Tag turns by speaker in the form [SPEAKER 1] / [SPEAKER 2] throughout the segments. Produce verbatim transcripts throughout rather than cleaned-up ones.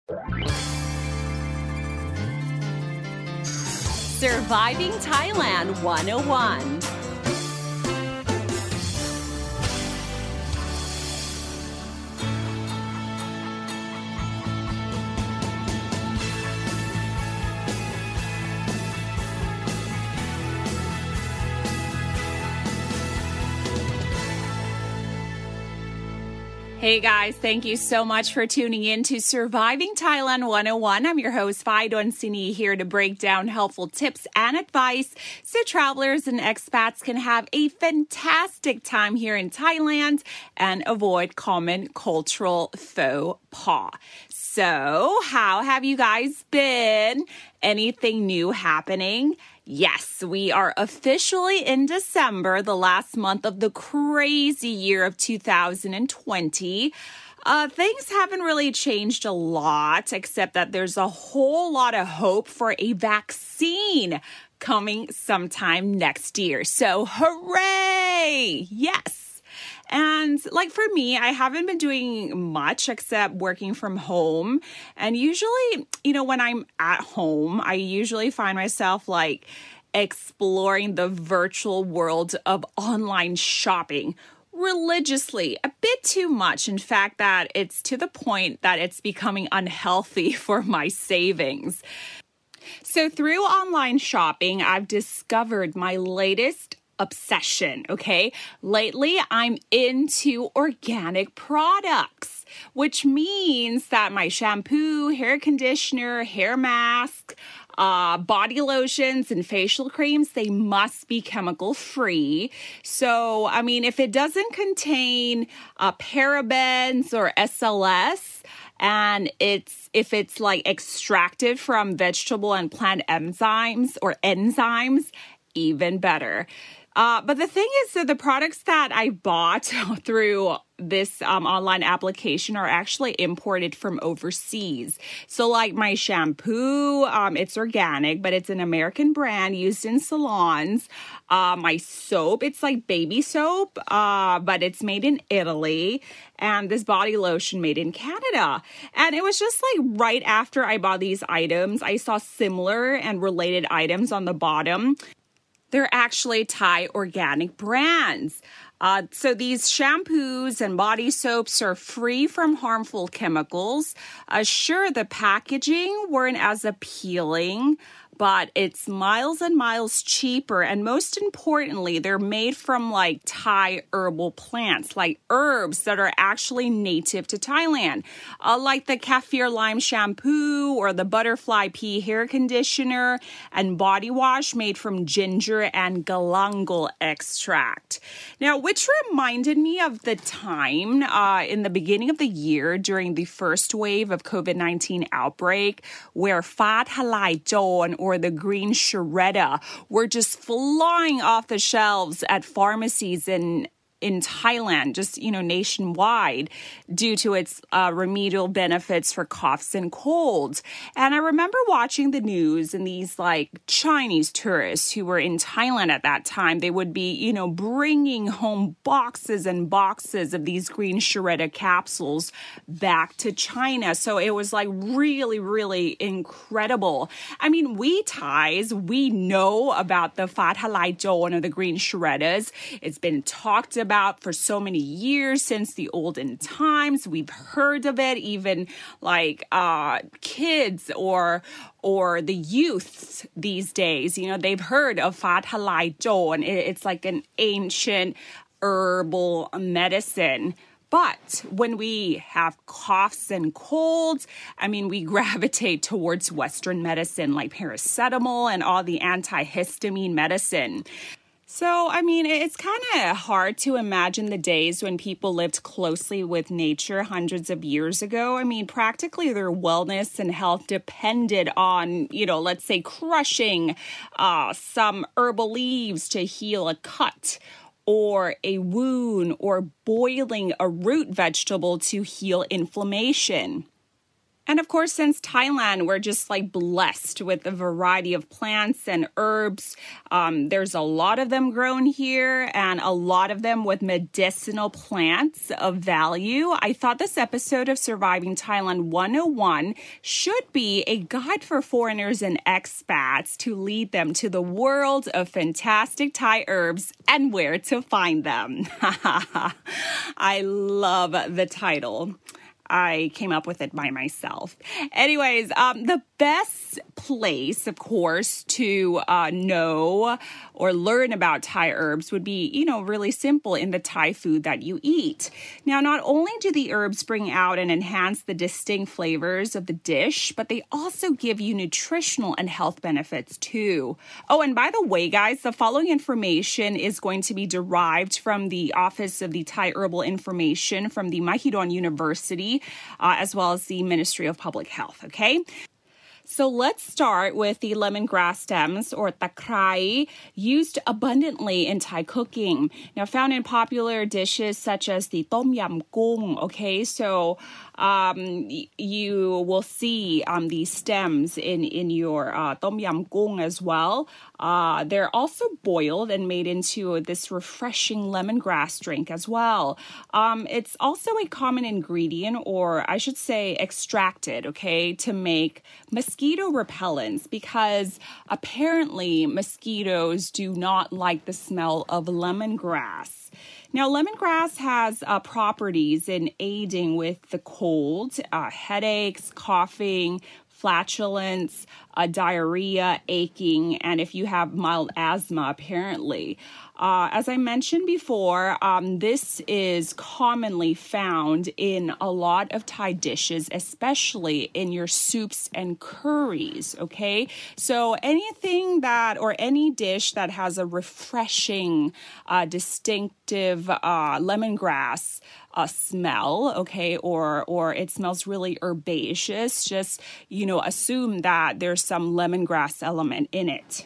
[SPEAKER 1] Surviving Thailand one oh one. Hey guys, thank you so much for tuning in to Surviving Thailand one oh one. I'm your host, Faidon Sini, here to break down helpful tips and advice so travelers and expats can have a fantastic time here in Thailand and avoid common cultural faux pas. So, how have you guys been? Anything new happening? Yes, we are officially in December, the last month of the crazy year of two thousand twenty. Uh, things haven't really changed a lot, except that there's a whole lot of hope for a vaccine coming sometime next year. So, hooray! Yes! And like for me, I haven't been doing much except working from home. And usually, you know, when I'm at home, I usually find myself like exploring the virtual world of online shopping religiously, a bit too much. In fact, that it's to the point that it's becoming unhealthy for my savings. So through online shopping, I've discovered my latest obsession, okay? Lately, I'm into organic products, which means that my shampoo, hair conditioner, hair mask, uh, body lotions, and facial creams, they must be chemical-free. So, I mean, if it doesn't contain uh, parabens or S L S, and it's if it's like extracted from vegetable and plant enzymes or enzymes, even better. Uh, but the thing is that the products that I bought through this um, online application are actually imported from overseas. So like my shampoo, um, it's organic, but it's an American brand used in salons. Uh, my soap, it's like baby soap, uh, but it's made in Italy. And this body lotion made in Canada. And it was just like right after I bought these items, I saw similar and related items on the bottom. They're actually Thai organic brands. Uh, so these shampoos and body soaps are free from harmful chemicals. Uh, sure, the packaging weren't as appealing, but it's miles and miles cheaper. And most importantly, they're made from like Thai herbal plants, like herbs that are actually native to Thailand, uh, like the kaffir lime shampoo or the butterfly pea hair conditioner and body wash made from ginger and galangal extract. Now, which reminded me of the time uh, in the beginning of the year during the first wave of COVID nineteen outbreak where Fa Thalai Jon or the green shredder were just flying off the shelves at pharmacies in in Thailand, just, you know, nationwide due to its uh, remedial benefits for coughs and colds. And I remember watching the news and these like Chinese tourists who were in Thailand at that time, they would be, you know, bringing home boxes and boxes of these green shredder capsules back to China. So it was like really, really incredible. I mean, we Thais, we know about the Fa Thalai Jon or the green shredders. It's been talked about about for so many years since the olden times. We've heard of it, even like uh, kids or or the youths these days. You know, they've heard of Fa Thalai Jon. It's like an ancient herbal medicine. But when we have coughs and colds, I mean, we gravitate towards Western medicine like paracetamol and all the antihistamine medicine. So, I mean, it's kind of hard to imagine the days when people lived closely with nature hundreds of years ago. I mean, practically their wellness and health depended on, you know, let's say crushing uh, some herbal leaves to heal a cut or a wound or boiling a root vegetable to heal inflammation. And of course, since Thailand, we're just like blessed with a variety of plants and herbs. Um, there's a lot of them grown here and a lot of them with medicinal plants of value. I thought this episode of Surviving Thailand one oh one should be a guide for foreigners and expats to lead them to the world of fantastic Thai herbs and where to find them. I love the title. I came up with it by myself. Anyways, um, the best place, of course, to uh, know or learn about Thai herbs would be, you know, really simple in the Thai food that you eat. Now, not only do the herbs bring out and enhance the distinct flavors of the dish, but they also give you nutritional and health benefits too. Oh, and by the way, guys, the following information is going to be derived from the Office of the Thai Herbal Information from the Mahidol University, uh, as well as the Ministry of Public Health, okay? So let's start with the lemongrass stems or takrai, used abundantly in Thai cooking. Now found in popular dishes such as the tom yam goong, okay? So um, you will see um, these stems in, in your uh, tom yam goong as well. Uh, they're also boiled and made into this refreshing lemongrass drink as well. Um, it's also a common ingredient, or I should say extracted, okay, to make mosquito repellents, because apparently mosquitoes do not like the smell of lemongrass. Now, lemongrass has uh, properties in aiding with the cold, uh, headaches, coughing, flatulence, uh, diarrhea, aching, and if you have mild asthma, apparently. Uh, as I mentioned before, um, this is commonly found in a lot of Thai dishes, especially in your soups and curries, okay? So anything that, or any dish that has a refreshing, uh, distinctive uh, lemongrass uh, smell, okay, or or it smells really herbaceous, just, you know, assume that there's some lemongrass element in it.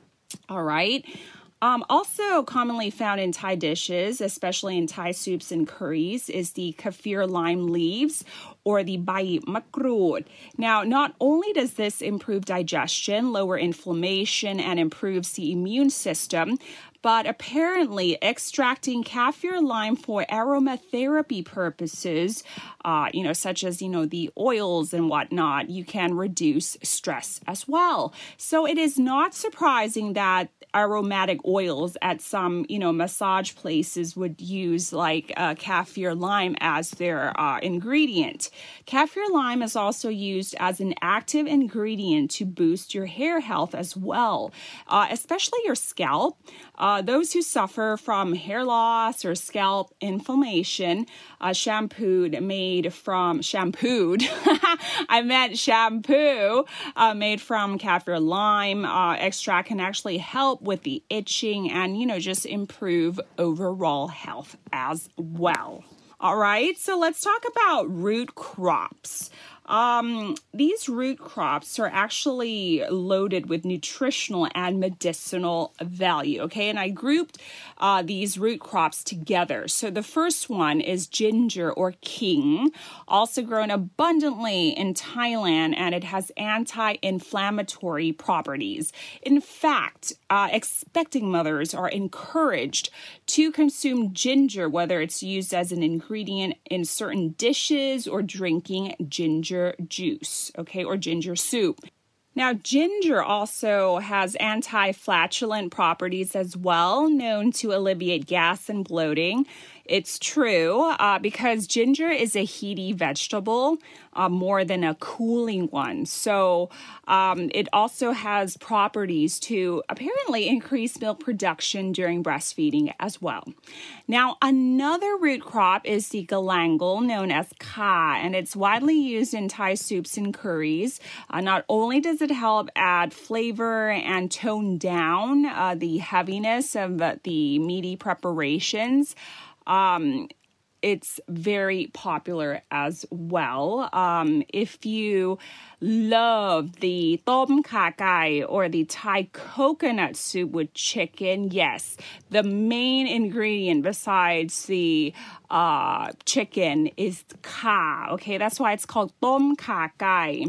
[SPEAKER 1] All right. Um, also commonly found in Thai dishes, especially in Thai soups and curries, is the kaffir lime leaves or the bai makrud. Now, not only does this improve digestion, lower inflammation, and improves the immune system, but apparently extracting kaffir lime for aromatherapy purposes, uh, you know, such as, you know, the oils and whatnot, you can reduce stress as well. So it is not surprising that aromatic oils at some, you know, massage places would use like uh, kaffir lime as their uh, ingredient. Kaffir lime is also used as an active ingredient to boost your hair health as well, uh, especially your scalp. Uh, those who suffer from hair loss or scalp inflammation, uh, shampooed made from shampooed. I meant shampoo uh, made from kaffir lime uh, extract can actually help with the itching and, you know, just improve overall health as well. All right, so let's talk about root crops. Um, these root crops are actually loaded with nutritional and medicinal value, okay? And I grouped uh, these root crops together. So the first one is ginger or king, also grown abundantly in Thailand, and it has anti-inflammatory properties. In fact, uh, expecting mothers are encouraged to consume ginger, whether it's used as an ingredient in certain dishes or drinking ginger juice, okay, or ginger soup. Now, ginger also has anti-flatulent properties as well, known to alleviate gas and bloating. It's true uh, because ginger is a heaty vegetable uh, more than a cooling one. So um, it also has properties to apparently increase milk production during breastfeeding as well. Now, another root crop is the galangal, known as ka, and it's widely used in Thai soups and curries. Uh, not only does it help add flavor and tone down uh, the heaviness of uh, the meaty preparations, Um, it's very popular as well. Um, if you love the tom kha gai or the Thai coconut soup with chicken, yes, the main ingredient besides the uh, chicken is kha. Okay, that's why it's called tom kha gai.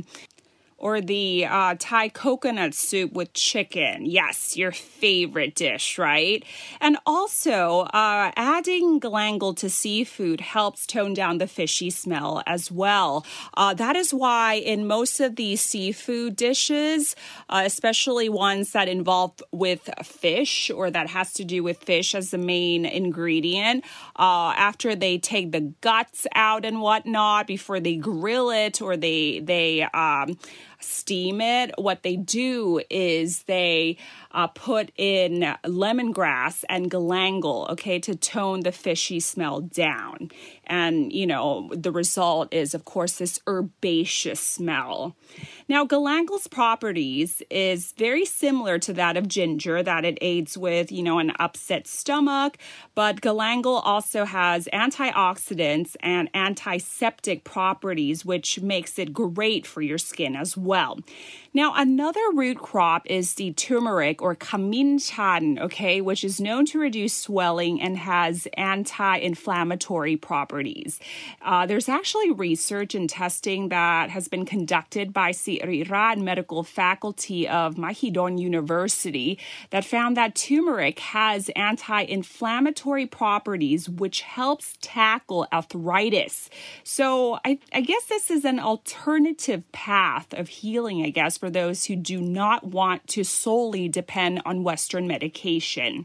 [SPEAKER 1] Or the uh, Thai coconut soup with chicken. Yes, your favorite dish, right? And also, uh, adding galangal to seafood helps tone down the fishy smell as well. Uh, that is why in most of these seafood dishes, uh, especially ones that involve with fish or that has to do with fish as the main ingredient, uh, after they take the guts out and whatnot, before they grill it or they, they, um, steam it, what they do is they uh, put in lemongrass and galangal, okay, to tone the fishy smell down. And, you know, the result is, of course, this herbaceous smell. Now, galangal's properties is very similar to that of ginger, that it aids with, you know, an upset stomach, but galangal also has antioxidants and antiseptic properties, which makes it great for your skin as well. Now, another root crop is the turmeric or kaminchahan, okay, which is known to reduce swelling and has anti-inflammatory properties. Uh, there's actually research and testing that has been conducted by Sirirad Medical Faculty of Mahidol University that found that turmeric has anti-inflammatory properties, which helps tackle arthritis. So I, I guess this is an alternative path of healing, I guess, for those who do not want to solely depend on Western medication.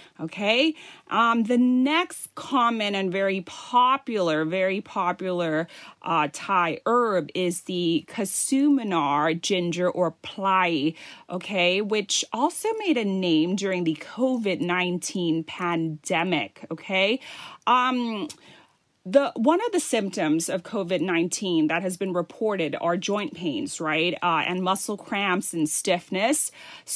[SPEAKER 1] Okay, um, the next common and very popular, very popular uh, Thai herb is the Kasuminar ginger or plai, okay, which also made a name during the covid nineteen pandemic, okay. Um, The one of the symptoms of covid nineteen that has been reported are joint pains, right? Uh, and muscle cramps and stiffness.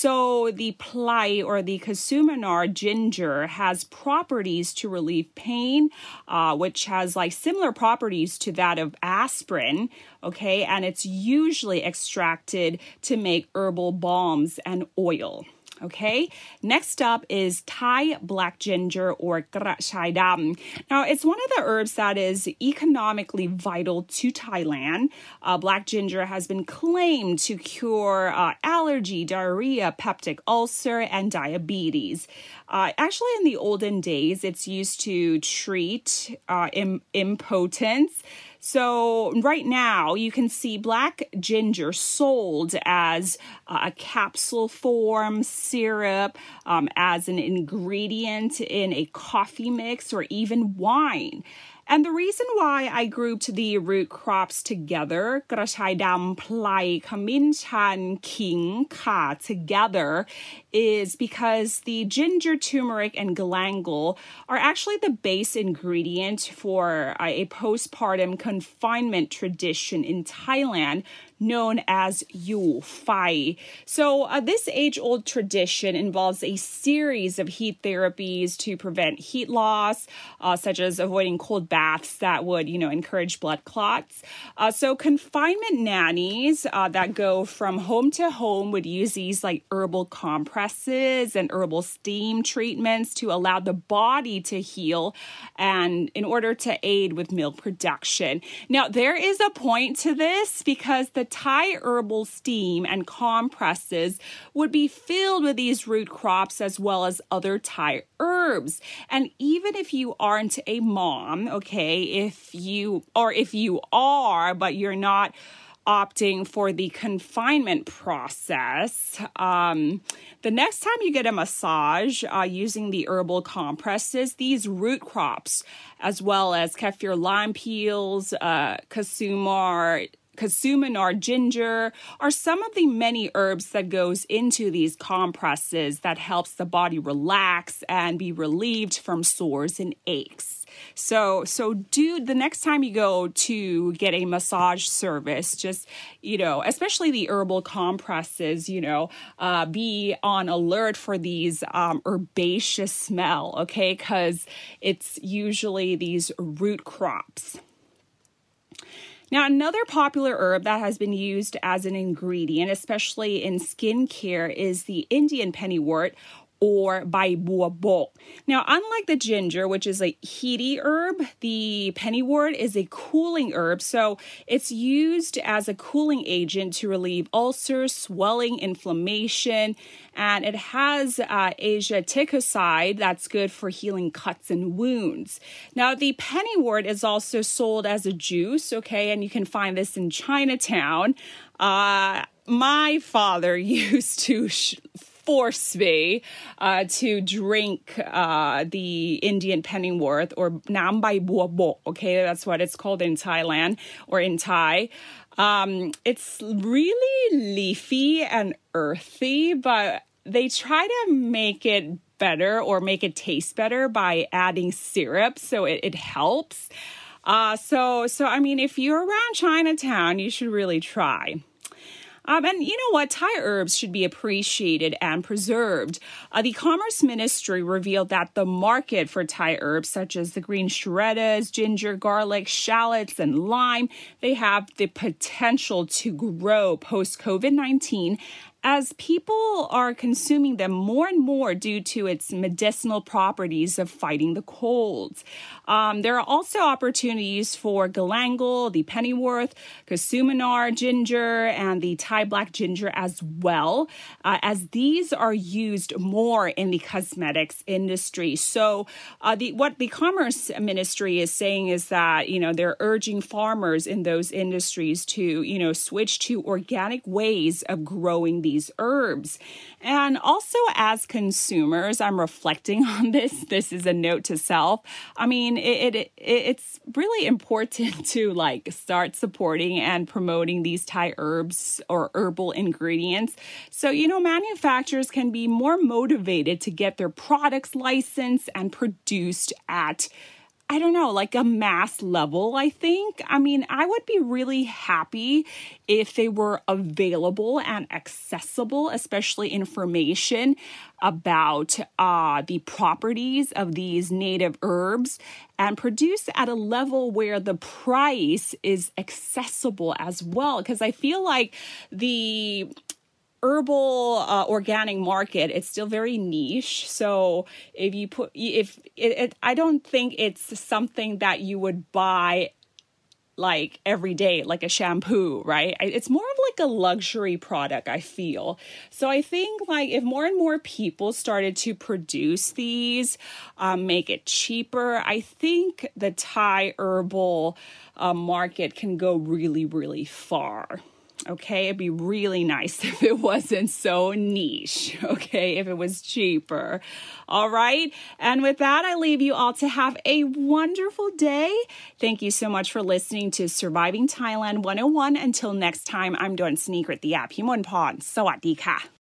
[SPEAKER 1] So the plai or the Kasuminar ginger has properties to relieve pain, uh, which has like similar properties to that of aspirin, okay? And it's usually extracted to make herbal balms and oil. Okay, next up is Thai black ginger or krachai dam. Now, it's one of the herbs that is economically vital to Thailand. Uh, black ginger has been claimed to cure uh, allergy, diarrhea, peptic ulcer, and diabetes. Uh, actually, in the olden days, it's used to treat uh, im- impotence. So right now you can see black ginger sold as uh, a capsule form, syrup, um, as an ingredient in a coffee mix or even wine. And the reason why I grouped the root crops together, krachai dam, plai, kaminchahan, king, kha, together, is because the ginger, turmeric, and galangal are actually the base ingredient for uh, a postpartum confinement tradition in Thailand known as Yu Fai. So uh, this age-old tradition involves a series of heat therapies to prevent heat loss, uh, such as avoiding cold baths that would, you know, encourage blood clots. Uh, so confinement nannies uh, that go from home to home would use these like herbal compresses and herbal steam treatments to allow the body to heal and in order to aid with milk production. Now, there is a point to this because the Thai herbal steam and compresses would be filled with these root crops as well as other Thai herbs. And even if you aren't a mom, okay, if you, or if you are, but you're not opting for the confinement process, um, the next time you get a massage uh, using the herbal compresses, these root crops, as well as kaffir lime peels, uh, kasumar, Casumanar ginger are some of the many herbs that goes into these compresses that helps the body relax and be relieved from sores and aches. So, so do the next time you go to get a massage service, just, you know, especially the herbal compresses, you know, uh, be on alert for these um, herbaceous smell, okay? Because it's usually these root crops. Now, another popular herb that has been used as an ingredient, especially in skincare, is the Indian pennywort, or Bai Bua Bo. Now, unlike the ginger, which is a heaty herb, the pennywort is a cooling herb. So it's used as a cooling agent to relieve ulcers, swelling, inflammation, and it has uh, asiaticoside that's good for healing cuts and wounds. Now, the pennywort is also sold as a juice, okay, and you can find this in Chinatown. Uh, my father used to sh- force me uh, to drink uh, the Indian pennywort, or Nam Bai Bua Bo, okay? That's what it's called in Thailand or in Thai. Um, it's really leafy and earthy, but they try to make it better or make it taste better by adding syrup, so it, it helps. Uh, so, so, I mean, if you're around Chinatown, you should really try. Um, and you know what? Thai herbs should be appreciated and preserved. Uh, the Commerce Ministry revealed that the market for Thai herbs, such as the green shreddas, ginger, garlic, shallots, and lime, they have the potential to grow post-COVID nineteen as people are consuming them more and more due to its medicinal properties of fighting the colds. Um, there are also opportunities for galangal, the pennywort, casumanar ginger, and the Thai black ginger as well, uh, as these are used more in the cosmetics industry. So uh, the what the Commerce Ministry is saying is that, you know, they're urging farmers in those industries to, you know, switch to organic ways of growing these herbs. And also as consumers, I'm reflecting on this. This is a note to self. I mean, it, it, it it's really important to like start supporting and promoting these Thai herbs or herbal ingredients. So, you know, manufacturers can be more motivated to get their products licensed and produced at, I don't know, like a mass level, I think. I mean, I would be really happy if they were available and accessible, especially information about uh, the properties of these native herbs, and produced at a level where the price is accessible as well. Because I feel like the herbal uh, organic market, it's still very niche. So if you put, if it, it, I don't think it's something that you would buy like every day, like a shampoo, right? It's more of like a luxury product, I feel. So I think like if more and more people started to produce these, um, make it cheaper, I think the Thai herbal uh, market can go really, really far. Okay, it'd be really nice if it wasn't so niche, okay, if it was cheaper. All right, and with that, I leave you all to have a wonderful day. Thank you so much for listening to Surviving Thailand one oh one. Until next time, I'm Dawn Sneaker at the app. Himon Pon. Sawadee ka.